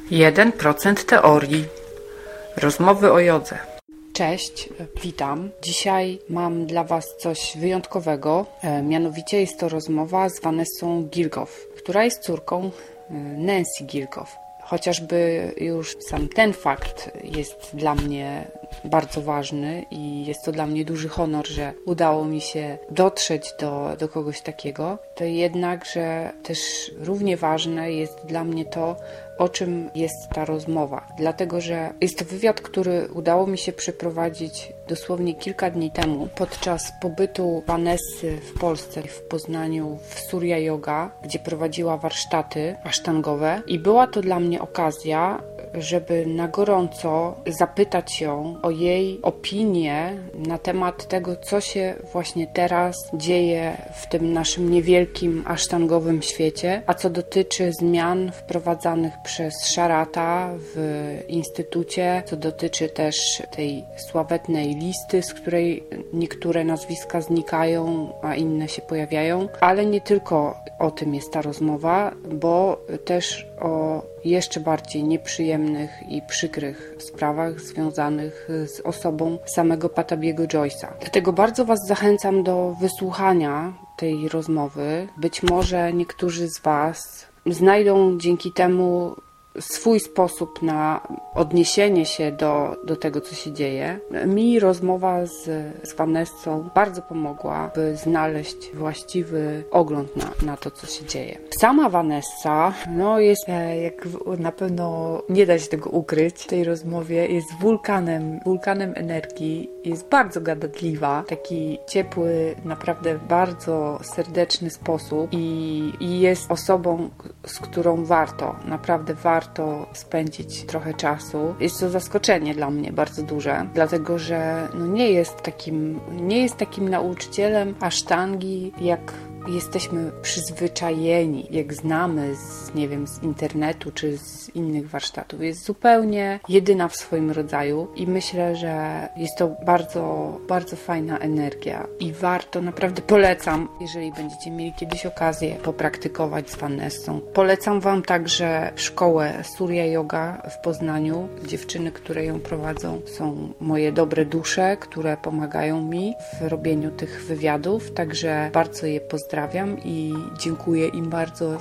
1% teorii. Rozmowy o jodze. Cześć, witam. Dzisiaj mam dla Was coś wyjątkowego. Mianowicie jest to rozmowa z Vanessą Gilgoff, która jest córką Nancy Gilgoff. Chociażby już sam ten fakt jest dla mnie bardzo ważny i jest to dla mnie duży honor, że udało mi się dotrzeć do kogoś takiego, to jednakże też równie ważne jest dla mnie to, o czym jest ta rozmowa. Dlatego, że jest to wywiad, który udało mi się przeprowadzić dosłownie kilka dni temu podczas pobytu Vanessy w Polsce, w Poznaniu, w Surya Yoga, gdzie prowadziła warsztaty asztangowe i była to dla mnie okazja, żeby na gorąco zapytać ją o jej opinię na temat tego, co się właśnie teraz dzieje w tym naszym niewielkim asztangowym świecie, a co dotyczy zmian wprowadzanych przez Sharata w instytucie, co dotyczy też tej sławetnej listy, z której niektóre nazwiska znikają, a inne się pojawiają, ale nie tylko o tym jest ta rozmowa, bo też o jeszcze bardziej nieprzyjemnych i przykrych sprawach związanych z osobą samego Patabiego Joyce'a. Dlatego bardzo Was zachęcam do wysłuchania tej rozmowy. Być może niektórzy z Was znajdą dzięki temu swój sposób na odniesienie się do tego, co się dzieje. Mi rozmowa z Vanessą bardzo pomogła, by znaleźć właściwy ogląd na to, co się dzieje. Sama Vanessa, jest, jak na pewno nie da się tego ukryć w tej rozmowie, jest wulkanem energii, jest bardzo gadatliwa, taki ciepły, naprawdę bardzo serdeczny sposób i jest osobą, z którą naprawdę warto spędzić trochę czasu. Jest to zaskoczenie dla mnie bardzo duże, dlatego że nie jest takim nauczycielem asztangi, jak jesteśmy przyzwyczajeni, jak znamy z internetu czy z innych warsztatów. Jest zupełnie jedyna w swoim rodzaju i myślę, że jest to bardzo, bardzo fajna energia i naprawdę polecam, jeżeli będziecie mieli kiedyś okazję popraktykować z Vanessą. Polecam Wam także szkołę Surya Yoga w Poznaniu. Dziewczyny, które ją prowadzą, są moje dobre dusze, które pomagają mi w robieniu tych wywiadów, także bardzo je pozdrawiam i dziękuję im bardzo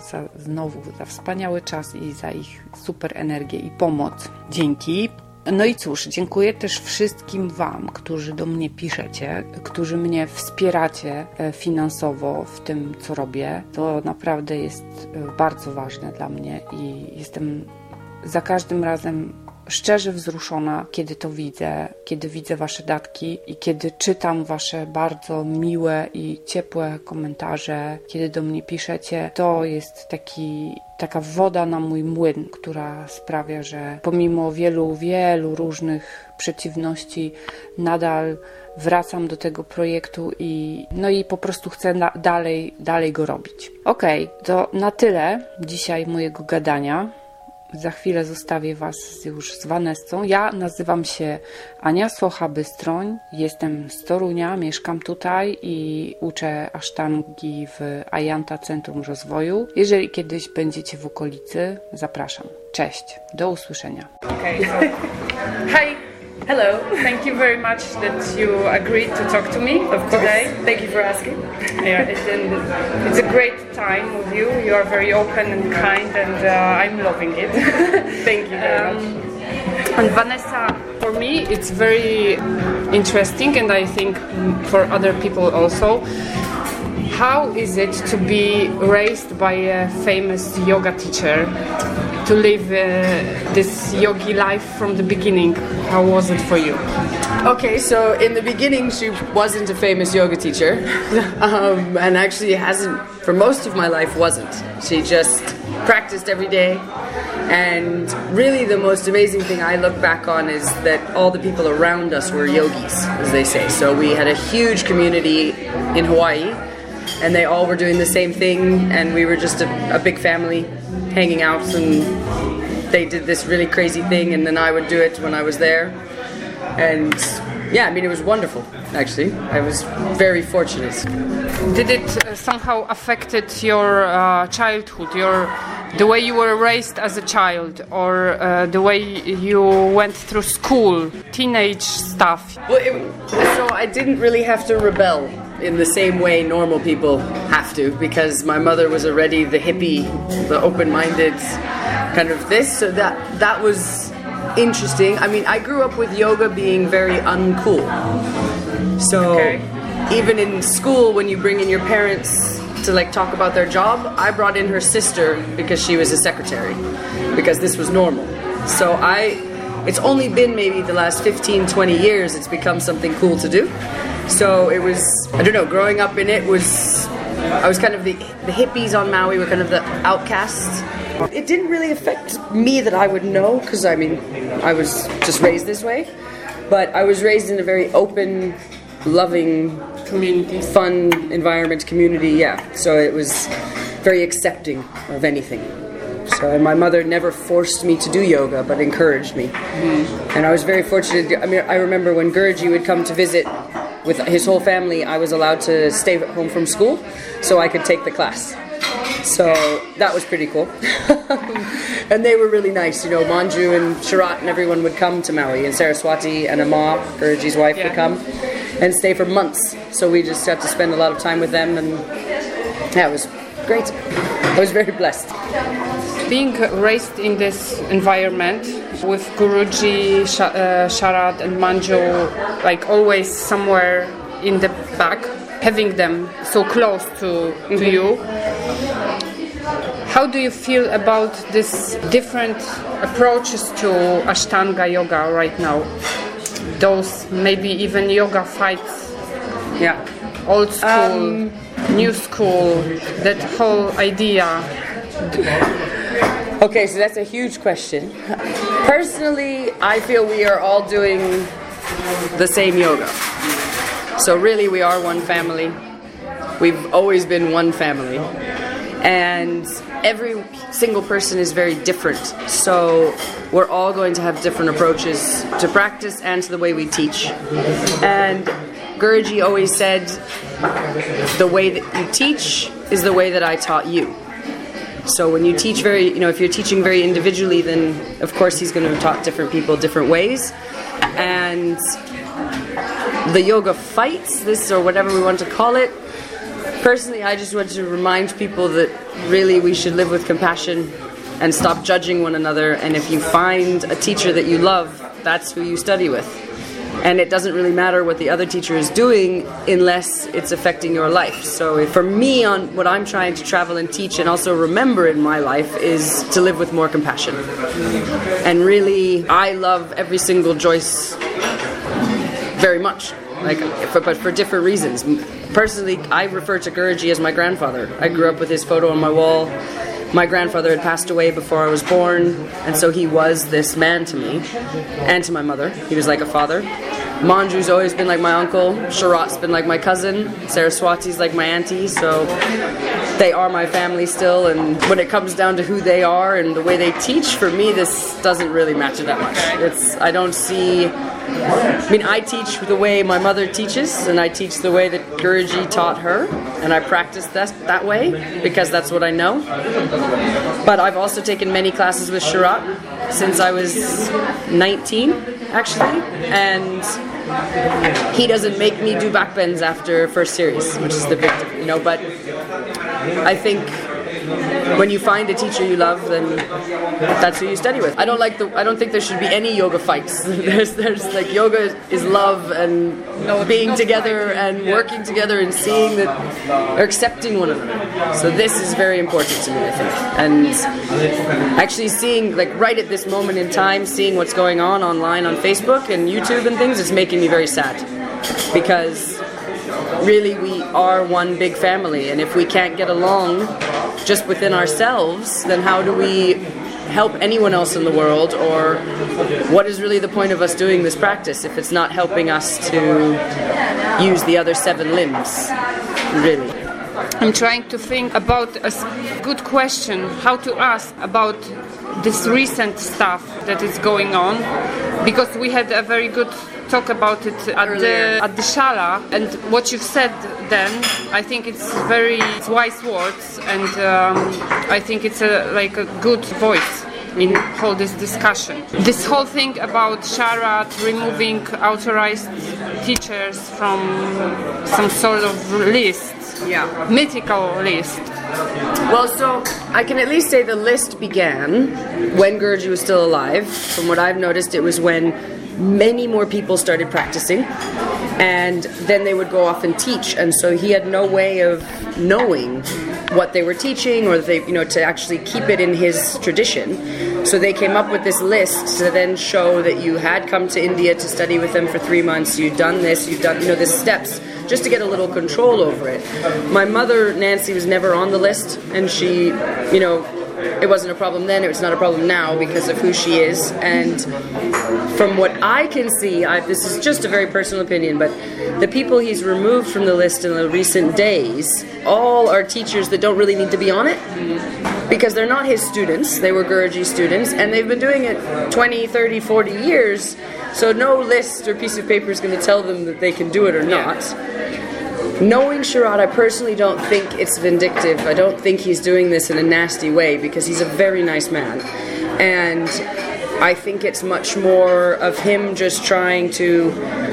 za wspaniały czas i za ich super energię i pomoc. Dzięki. No i cóż, dziękuję też wszystkim Wam, którzy do mnie piszecie, którzy mnie wspieracie finansowo w tym, co robię. To naprawdę jest bardzo ważne dla mnie i jestem za każdym razem szczerze wzruszona, kiedy to widzę, kiedy widzę Wasze datki i kiedy czytam Wasze bardzo miłe i ciepłe komentarze, kiedy do mnie piszecie. To jest taka woda na mój młyn, która sprawia, że pomimo wielu, wielu różnych przeciwności nadal wracam do tego projektu i po prostu chcę dalej go robić. Okej, to na tyle dzisiaj mojego gadania. Za chwilę zostawię Was już z Vanessą. Ja nazywam się Ania Socha-Bystroń, jestem z Torunia, mieszkam tutaj i uczę asztangi w Ajanta Centrum Rozwoju. Jeżeli kiedyś będziecie w okolicy, zapraszam. Cześć, do usłyszenia. Okay, so, hi. Hello, thank you very much that you agreed to talk to me today. Thank you for asking. Yeah, it's a great time with you. You are very open and kind, and I'm loving it. Thank you very much. And Vanessa, for me, it's very interesting, and I think for other people also. How is it to be raised by a famous yoga teacher? To live this yogi life from the beginning. How was it for you? Okay, so in the beginning she wasn't a famous yoga teacher and actually hasn't, for most of my life wasn't. She just practiced every day, and really the most amazing thing I look back on is that all the people around us were yogis, as they say. So we had a huge community in Hawaii and they all were doing the same thing, and we were just a big family hanging out, and they did this really crazy thing and then I would do it when I was there, and yeah, I mean, it was wonderful, actually. I was very fortunate. Did it somehow affected your childhood, the way you were raised as a child, or the way you went through school, teenage stuff? Well, so I didn't really have to rebel in the same way normal people have to, because my mother was already the hippie, the open-minded kind of this, so that was interesting. I mean, I grew up with yoga being very uncool. So even in school, when you bring in your parents to like talk about their job, I brought in her sister because she was a secretary, because this was normal. So it's only been maybe the last 15, 20 years it's become something cool to do. So it was, I don't know, growing up in it I was kind of the hippies on Maui were kind of the outcasts. It didn't really affect me that I would know, because I mean, I was just raised this way. But I was raised in a very open, loving, Community. Fun environment, community, yeah. So it was very accepting of anything. So, and my mother never forced me to do yoga, but encouraged me. And I was very fortunate. I mean, I remember when Guruji would come to visit with his whole family, I was allowed to stay home from school so I could take the class. So that was pretty cool. And they were really nice, you know, Manju and Sharat and everyone would come to Maui, and Saraswati and Amma, Guruji's wife, would come and stay for months. So we just got to spend a lot of time with them, and yeah, it was great. I was very blessed. Being raised in this environment with Guruji, Sharat and Manju, like always somewhere in the back, having them so close to you, how do you feel about these different approaches to Ashtanga yoga right now? Those maybe even yoga fights, old school, new school, that whole idea. Okay, so that's a huge question. Personally, I feel we are all doing the same yoga. So really we are one family. We've always been one family. And every single person is very different. So we're all going to have different approaches to practice and to the way we teach. And Guruji always said, the way that you teach is the way that I taught you. So when you teach if you're teaching very individually, then of course he's going to have taught different people different ways. And the yoga fights, this or whatever we want to call it, personally I just want to remind people that really we should live with compassion and stop judging one another. And if you find a teacher that you love, that's who you study with. And it doesn't really matter what the other teacher is doing unless it's affecting your life. So for me, on what I'm trying to travel and teach and also remember in my life is to live with more compassion. And really, I love every single Joyce very much, but for different reasons. Personally, I refer to Guruji as my grandfather. I grew up with his photo on my wall. My grandfather had passed away before I was born, and so he was this man to me and to my mother. He was like a father. Manju's always been like my uncle. Sharat's been like my cousin. Saraswati's like my auntie. So they are my family still. And when it comes down to who they are and the way they teach, for me, this doesn't really matter that much. I teach the way my mother teaches, and I teach the way that Guruji taught her, and I practice that way because that's what I know. But I've also taken many classes with Sharat since I was 19, actually, and he doesn't make me do backbends after first series, which is the big, but I think when you find a teacher you love, then that's who you study with. I don't think there should be any yoga fights. There's like yoga is love and being together and working together and seeing that or accepting one another. So this is very important to me, I think. And actually seeing, like right at this moment in time, seeing what's going on online on Facebook and YouTube and things is making me very sad. Because really we are one big family, and if we can't get along just within ourselves, then how do we help anyone else in the world? Or what is really the point of us doing this practice if it's not helping us to use the other 7 limbs, really? I'm trying to think about a good question, how to ask about this recent stuff that is going on, because we had a very good talk about it at the Shala, and what you've said then, I think it's wise words, and I think it's a good voice in whole this discussion. This whole thing about Sharat removing authorized teachers from some sort of list, mythical list. Well, so I can at least say the list began when Guruji was still alive. From what I've noticed, it was when many more people started practicing, and then they would go off and teach, and so he had no way of knowing what they were teaching, or to actually keep it in his tradition. So they came up with this list to then show that you had come to India to study with them for 3 months, you'd done this, you'd done, the steps, just to get a little control over it. My mother, Nancy, was never on the list, and she, it wasn't a problem then, it's not a problem now because of who she is. And from what I can see, this is just a very personal opinion, but the people he's removed from the list in the recent days all are teachers that don't really need to be on it, because they're not his students. They were Guruji students, and they've been doing it 20, 30, 40 years, so no list or piece of paper is going to tell them that they can do it or not. Knowing Sharat, I personally don't think it's vindictive. I don't think he's doing this in a nasty way, because he's a very nice man. And I think it's much more of him just trying to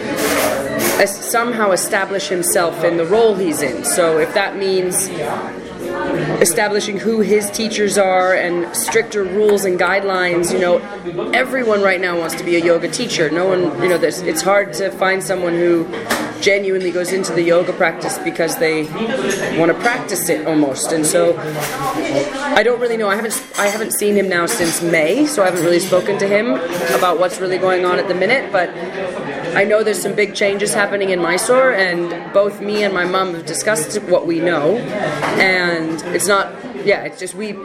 somehow establish himself in the role he's in. So if that means establishing who his teachers are and stricter rules and guidelines, everyone right now wants to be a yoga teacher. No one, it's hard to find someone who genuinely goes into the yoga practice because they want to practice it almost. And so I don't really know. I haven't seen him now since May, so I haven't really spoken to him about what's really going on at the minute, but I know there's some big changes happening in Mysore, and both me and my mom have discussed what we know, and it's just we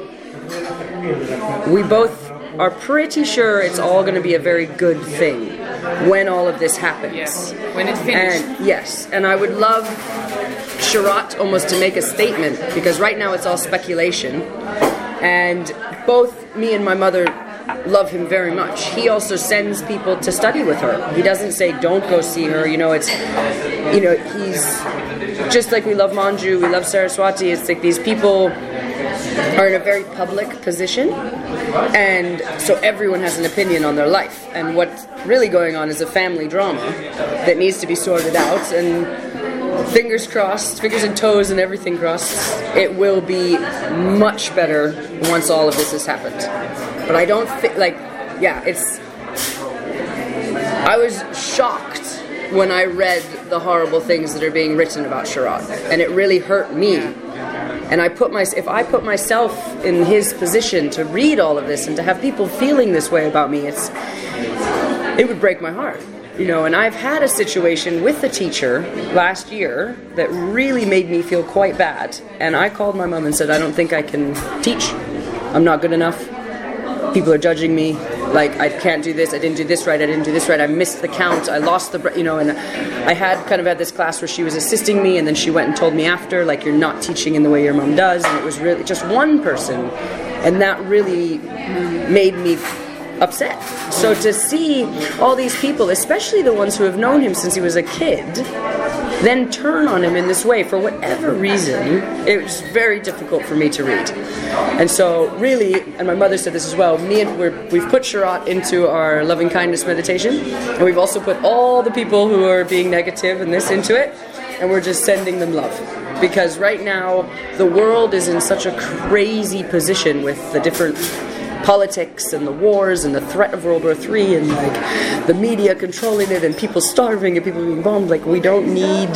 both are pretty sure it's all going to be a very good thing when all of this happens. Yes, when it finishes. And yes, and I would love Sharat almost to make a statement, because right now it's all speculation, and both me and my mother love him very much. He also sends people to study with her. He doesn't say don't go see her. He's just like we love Manju, we love Saraswati. It's like these people are in a very public position, and so everyone has an opinion on their life, and what's really going on is a family drama that needs to be sorted out, and fingers crossed, fingers and toes and everything crossed, it will be much better once all of this has happened. But I don't think, I was shocked when I read the horrible things that are being written about Sharat, and it really hurt me. And if I put myself in his position to read all of this and to have people feeling this way about me, it would break my heart. And I've had a situation with a teacher last year that really made me feel quite bad. And I called my mom and said, I don't think I can teach. I'm not good enough. People are judging me. I can't do this. I didn't do this right. I didn't do this right. I missed the count. I lost the, and I had this class where she was assisting me, and then she went and told me after, you're not teaching in the way your mom does. And it was really just one person. And that really made me upset. So to see all these people, especially the ones who have known him since he was a kid, then turn on him in this way for whatever reason, it was very difficult for me to read. And so really, and my mother said this as well, we've put Sharat into our loving kindness meditation, and we've also put all the people who are being negative and this into it, and we're just sending them love. Because right now, the world is in such a crazy position with the different politics and the wars and the threat of World War III and the media controlling it and people starving and people being bombed. We don't need,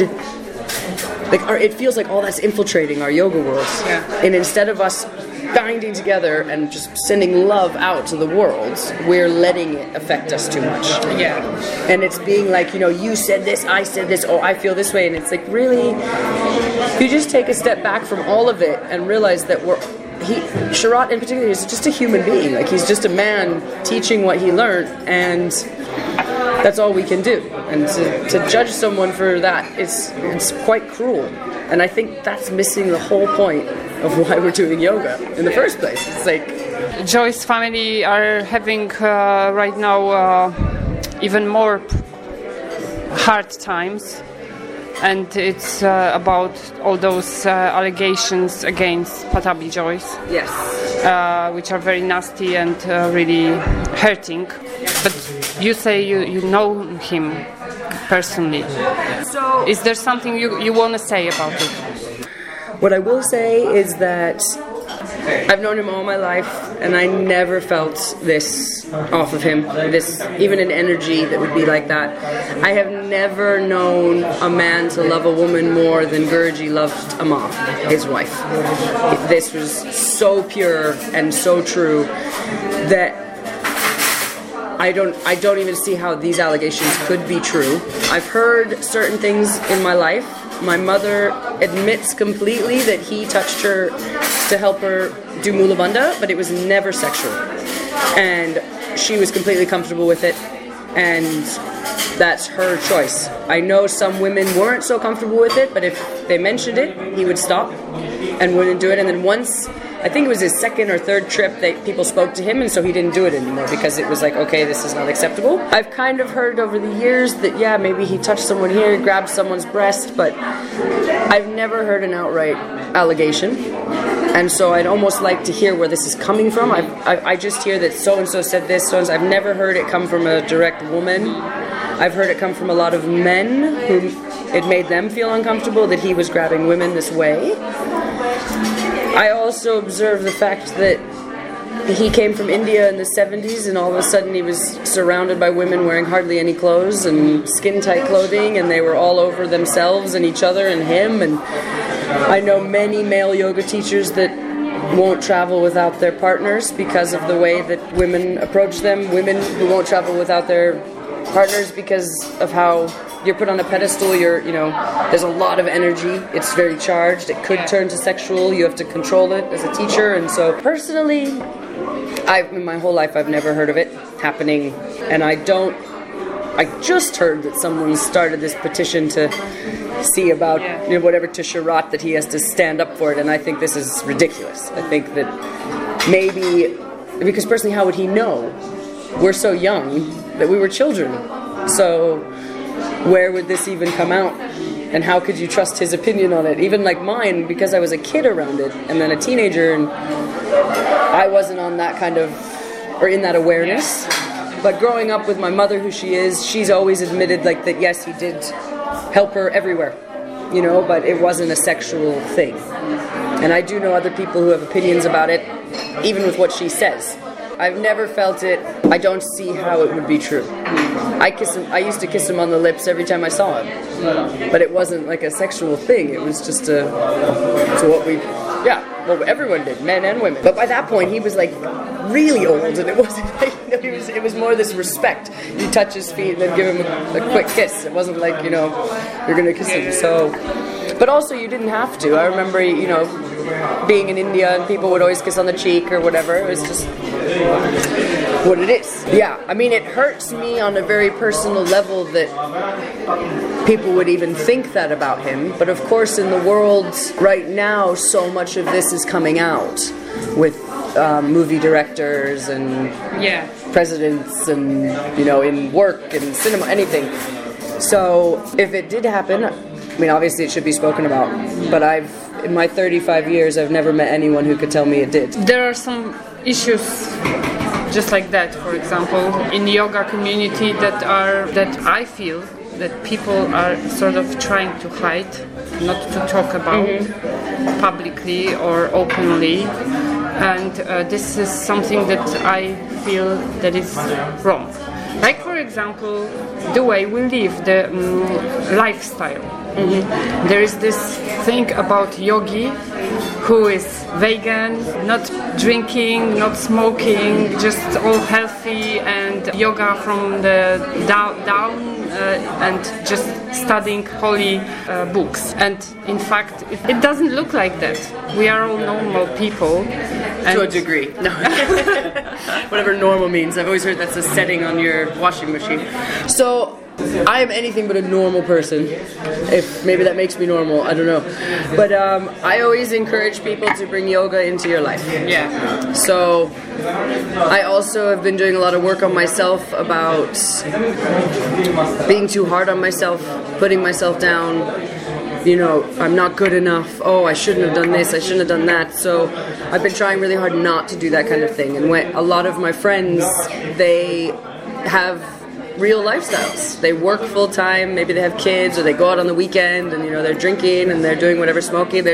it feels like all that's infiltrating our yoga world. Yeah. And instead of us binding together and just sending love out to the world, we're letting it affect us too much. Yeah. And it's being you said this, I said this, oh, I feel this way. And it's really, if you just take a step back from all of it and realize that Sharat in particular is just a human being. He's just a man teaching what he learned, and that's all we can do. And to judge someone for that, it's quite cruel. And I think that's missing the whole point of why we're doing yoga in the first place. It's Joy's family are having right now even more hard times, and it's about all those allegations against Patabi Joyce. Yes. Which are very nasty and really hurting. But you say you know him personally. So, is there something you want to say about it? what I will say is that I've known him all my life, and I never felt this off of him, this even an energy that would be like that. I have never known a man to love a woman more than Gurji loved Amma, his wife. This was so pure and so true that I don't even see how these allegations could be true. I've heard certain things in my life. My mother admits completely that he touched her to help her do Mulabanda, but it was never sexual. And she was completely comfortable with it, and that's her choice. I know some women weren't so comfortable with it, but if they mentioned it, he would stop and wouldn't do it. And then once, I think it was his second or third trip, that people spoke to him, and so he didn't do it anymore because it was like, okay, this is not acceptable. I've kind of heard over the years that, yeah, maybe he touched someone here, grabbed someone's breast, but I've never heard an outright allegation. And so I'd almost like to hear where this is coming from. I just hear that so-and-so said this, so-and-so. I've never heard it come from a direct woman. I've heard it come from a lot of men who it made them feel uncomfortable that he was grabbing women this way. I also observe the fact that he came from India in the 70s, and all of a sudden he was surrounded by women wearing hardly any clothes and skin-tight clothing, and they were all over themselves and each other and him. And I know many male yoga teachers that won't travel without their partners because of the way that women approach them. Women who won't travel without their partners because of how you're put on a pedestal, there's a lot of energy, it's very charged, it could turn to sexual, you have to control it as a teacher. And so personally, in my whole life I've never heard of it happening, and I just heard that someone started this petition to see about whatever to Sharat, that he has to stand up for it, and I think this is ridiculous. I think that maybe, because personally, how would he know? We're so young that we were children, so where would this even come out? And how could you trust his opinion on it? Even like mine, because I was a kid around it, and then a teenager, and I wasn't on that kind of, or in that awareness. But growing up with my mother, who she is, she's always admitted like that, yes, he did help her everywhere, but it wasn't a sexual thing. And I do know other people who have opinions about it, even with what she says. I've never felt it. I don't see how it would be true. I used to kiss him on the lips every time I saw him, but it wasn't like a sexual thing. It was just what everyone did, men and women. But by that point, he was like really old, and it wasn't like, it was more this respect. You touch his feet and then give him a quick kiss. It wasn't like, you're gonna kiss him. So, but also you didn't have to. I remember, being in India, and people would always kiss on the cheek or whatever. It was just what it is. Yeah, I mean, it hurts me on a very personal level that people would even think that about him. But of course, in the world right now, so much of this is coming out with movie directors and presidents, and in work and cinema, anything. So if it did happen, I mean, obviously it should be spoken about, but in my 35 years, I've never met anyone who could tell me it did. There are some issues just like that, for example, in the yoga community that I feel that people are sort of trying to hide, not to talk about publicly or openly. And this is something that I feel that is wrong. Like, for example, the way we live, the lifestyle. There is this thing about yogi who is vegan, not drinking, not smoking, just all healthy, and yoga from the down and just studying holy books. And in fact, it doesn't look like that. We are all normal people. To a degree. No. Whatever normal means. I've always heard that's a setting on your washing machine. So I am anything but a normal person. If maybe that makes me normal, I don't know. But I always encourage people to bring yoga into your life. Yeah. So I also have been doing a lot of work on myself about being too hard on myself, putting myself down. You know, I'm not good enough. Oh, I shouldn't have done this. I shouldn't have done that. So I've been trying really hard not to do that kind of thing. And when a lot of my friends, they have real lifestyles. They work full time. Maybe they have kids, or they go out on the weekend, and they're drinking and they're doing whatever, smoking.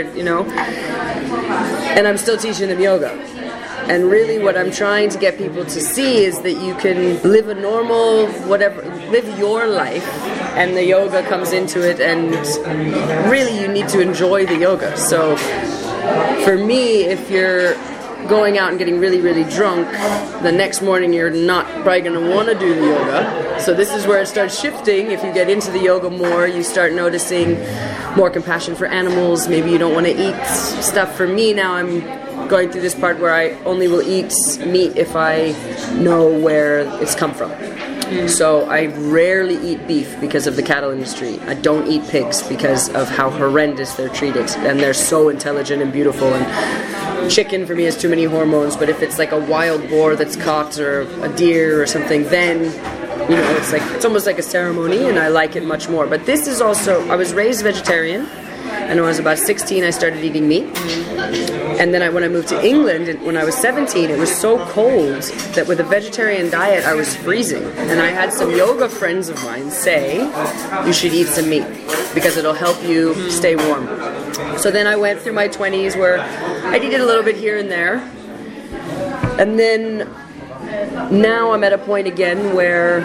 And I'm still teaching them yoga. And really what I'm trying to get people to see is that you can live a normal, live your life, and the yoga comes into it, and really you need to enjoy the yoga. So for me, if you're going out and getting really, really drunk, the next morning you're not probably going to want to do the yoga. So this is where it starts shifting. If you get into the yoga more, you start noticing more compassion for animals. Maybe you don't want to eat stuff. For me now, I'm going through this part where I only will eat meat if I know where it's come from. So I rarely eat beef because of the cattle industry. I don't eat pigs because of how horrendous they're treated, and they're so intelligent and beautiful. And chicken for me has too many hormones, but if it's like a wild boar that's caught, or a deer or something, then it's almost like a ceremony, and I like it much more. But this is also, I was raised vegetarian, and when I was about 16 I started eating meat. And then when I moved to England, when I was 17, it was so cold that with a vegetarian diet I was freezing. And I had some yoga friends of mine say, you should eat some meat because it'll help you stay warm. So then I went through my 20s where I'd eat it a little bit here and there. And then now I'm at a point again where,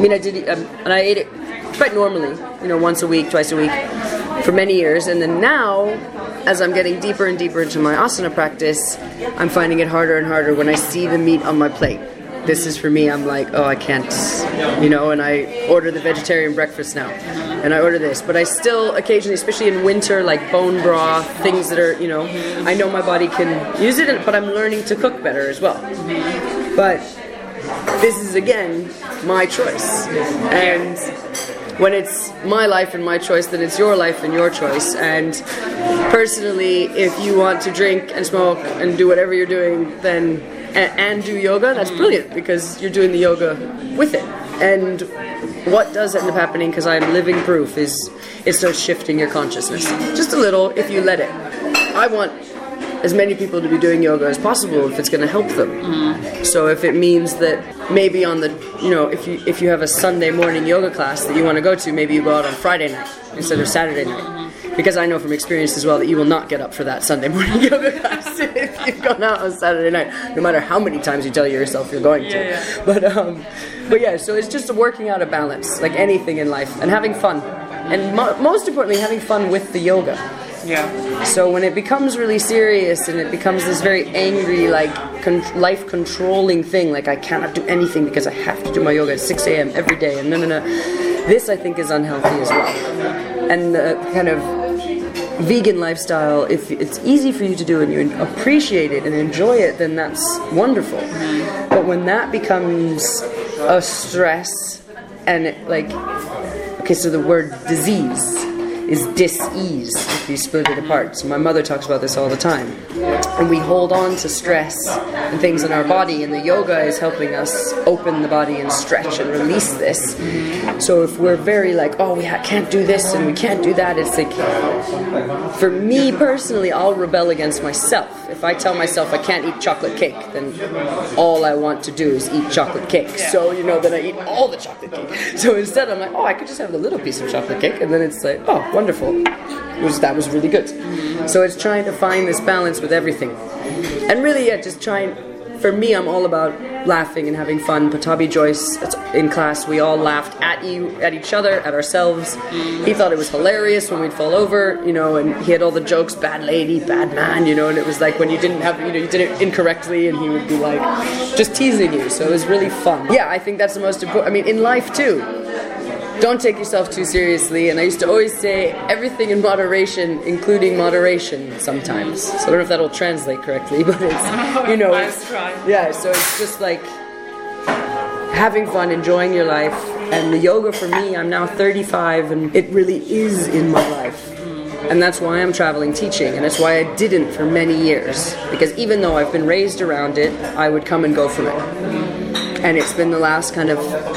I ate it quite normally, once a week, twice a week, for many years. And then now, as I'm getting deeper and deeper into my asana practice, I'm finding it harder and harder when I see the meat on my plate. This is for me, I'm like, oh, I can't, and I order the vegetarian breakfast now. And I order this. But I still occasionally, especially in winter, like bone broth, things that are, I know my body can use it, but I'm learning to cook better as well. But this is, again, my choice. And when it's my life and my choice, then it's your life and your choice. And personally, if you want to drink and smoke and do whatever you're doing, then and do yoga, that's brilliant, because you're doing the yoga with it. And what does end up happening, because I'm living proof, is it starts shifting your consciousness. Just a little, if you let it. I want as many people to be doing yoga as possible if it's going to help them. So if it means that maybe on the, if you have a Sunday morning yoga class that you want to go to, maybe you go out on Friday night instead of Saturday night. Because I know from experience as well that you will not get up for that Sunday morning yoga class if you've gone out on Saturday night, no matter how many times you tell yourself you're going to. Yeah. But yeah, so it's just working out a balance, like anything in life, and having fun. And most importantly, having fun with the yoga. Yeah. So when it becomes really serious and it becomes this very angry, like life controlling thing, like I cannot do anything because I have to do my yoga at 6 a.m. every day, and no. This I think is unhealthy as well. And the kind of vegan lifestyle, if it's easy for you to do and you appreciate it and enjoy it, then that's wonderful. But when that becomes a stress and so the word disease is dis-ease if you split it apart. So my mother talks about this all the time. And we hold on to stress and things in our body, and the yoga is helping us open the body and stretch and release this. So if we're very we can't do this and we can't do that, it's like, for me personally, I'll rebel against myself. If I tell myself I can't eat chocolate cake, then all I want to do is eat chocolate cake. So, then I eat all the chocolate cake. So instead I'm like, I could just have a little piece of chocolate cake, and then it's like, wonderful. That was really good. So it's trying to find this balance with everything. And really, just trying, for me, I'm all about laughing and having fun. Patabi Joyce, in class, we all laughed at each other, at ourselves. He thought it was hilarious when we'd fall over, and he had all the jokes, bad lady, bad man, and it was like when you didn't have, you did it incorrectly, and he would be like, just teasing you. So it was really fun. Yeah, I think that's the most important, in life too. Don't take yourself too seriously, and I used to always say everything in moderation, including moderation sometimes. So I don't know if that'll translate correctly, but it's, so it's just like having fun, enjoying your life, And the yoga for me, I'm now 35 and it really is in my life. And that's why I'm traveling teaching, and it's why I didn't for many years. Because even though I've been raised around it, I would come and go from it. And it's been the last kind of,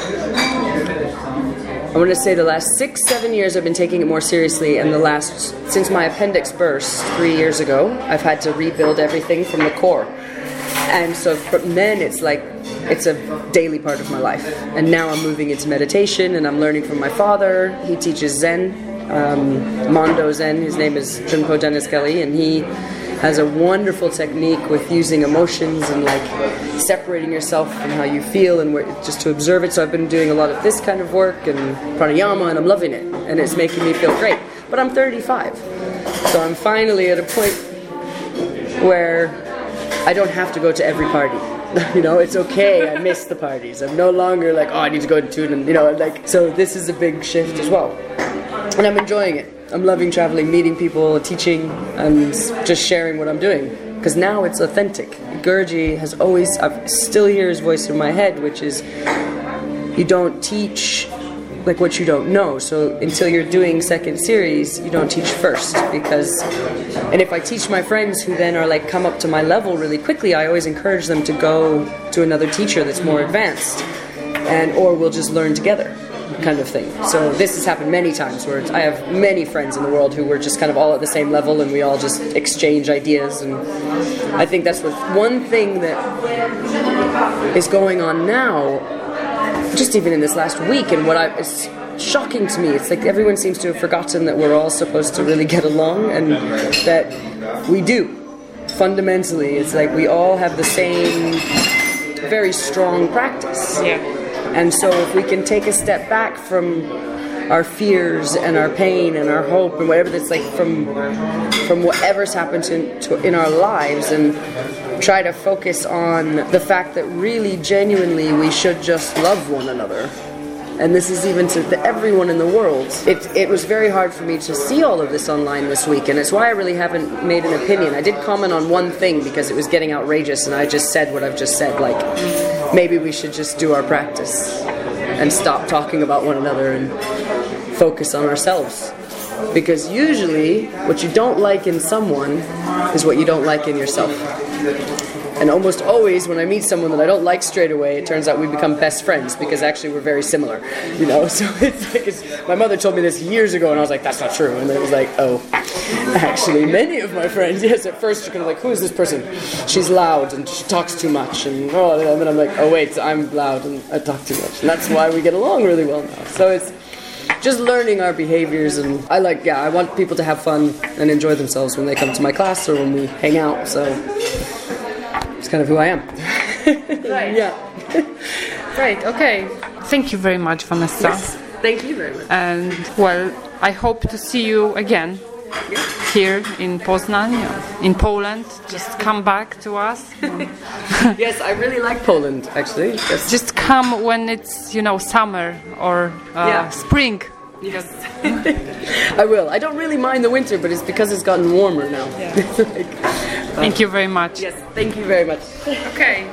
I want to say the last 6-7 years I've been taking it more seriously, and since my appendix burst 3 years ago, I've had to rebuild everything from the core. And so from then it's like, it's a daily part of my life. And now I'm moving into meditation, and I'm learning from my father. He teaches Zen, Mondo Zen. His name is Trungpa Dennis Kelly, and he has a wonderful technique with using emotions and like separating yourself from how you feel and just to observe it. So I've been doing a lot of this kind of work and pranayama, and I'm loving it, and it's making me feel great. But I'm 35, so I'm finally at a point where I don't have to go to every party. You know, it's okay, I miss the parties. I'm no longer like, oh, I need to go to it, and you know, like, so this is a big shift as well. And I'm enjoying it. I'm loving traveling, meeting people, teaching, and just sharing what I'm doing. Because now it's authentic. Guruji has always, I still hear his voice in my head, which is, you don't teach like what you don't know. So until you're doing second series, you don't teach first. And if I teach my friends who then are like come up to my level really quickly, I always encourage them to go to another teacher that's more advanced, or we'll just learn together, kind of thing. So this has happened many times where I have many friends in the world who were just kind of all at the same level, and we all just exchange ideas. And I think that's one thing that is going on now, just even in this last week, and it's shocking to me. It's like everyone seems to have forgotten that we're all supposed to really get along, and that we do. Fundamentally, it's like we all have the same very strong practice. Yeah. And so if we can take a step back from our fears and our pain and our hope and whatever that's like from whatever's happened in our lives, and try to focus on the fact that really genuinely we should just love one another. And this is even to everyone in the world. It was very hard for me to see all of this online this week, and it's why I really haven't made an opinion. I did comment on one thing because it was getting outrageous, and I just said what I've just said, like, maybe we should just do our practice and stop talking about one another and focus on ourselves. Because usually, what you don't like in someone is what you don't like in yourself. And almost always, when I meet someone that I don't like straight away, it turns out we become best friends because actually we're very similar, you know. So it's like my mother told me this years ago, and I was like, "That's not true." And then it was like, "Oh, actually, many of my friends, yes." At first, you're kind of like, "Who is this person? She's loud and she talks too much," and then I'm like, "Oh wait, I'm loud and I talk too much," and that's why we get along really well now. So it's just learning our behaviors, and I want people to have fun and enjoy themselves when they come to my class or when we hang out. So it's kind of who I am. Right. Yeah. Great. Okay. Thank you very much, Vanessa. Yes. Thank you very much. And well, I hope to see you again here in Poznań, in Poland. Just come back to us. Yes, I really like Poland, actually. Yes. Just come when it's, summer or spring. Yes. I will. I don't really mind the winter, but it's because it's gotten warmer now. Yeah. Thank you very much. Yes, thank you very much. Okay.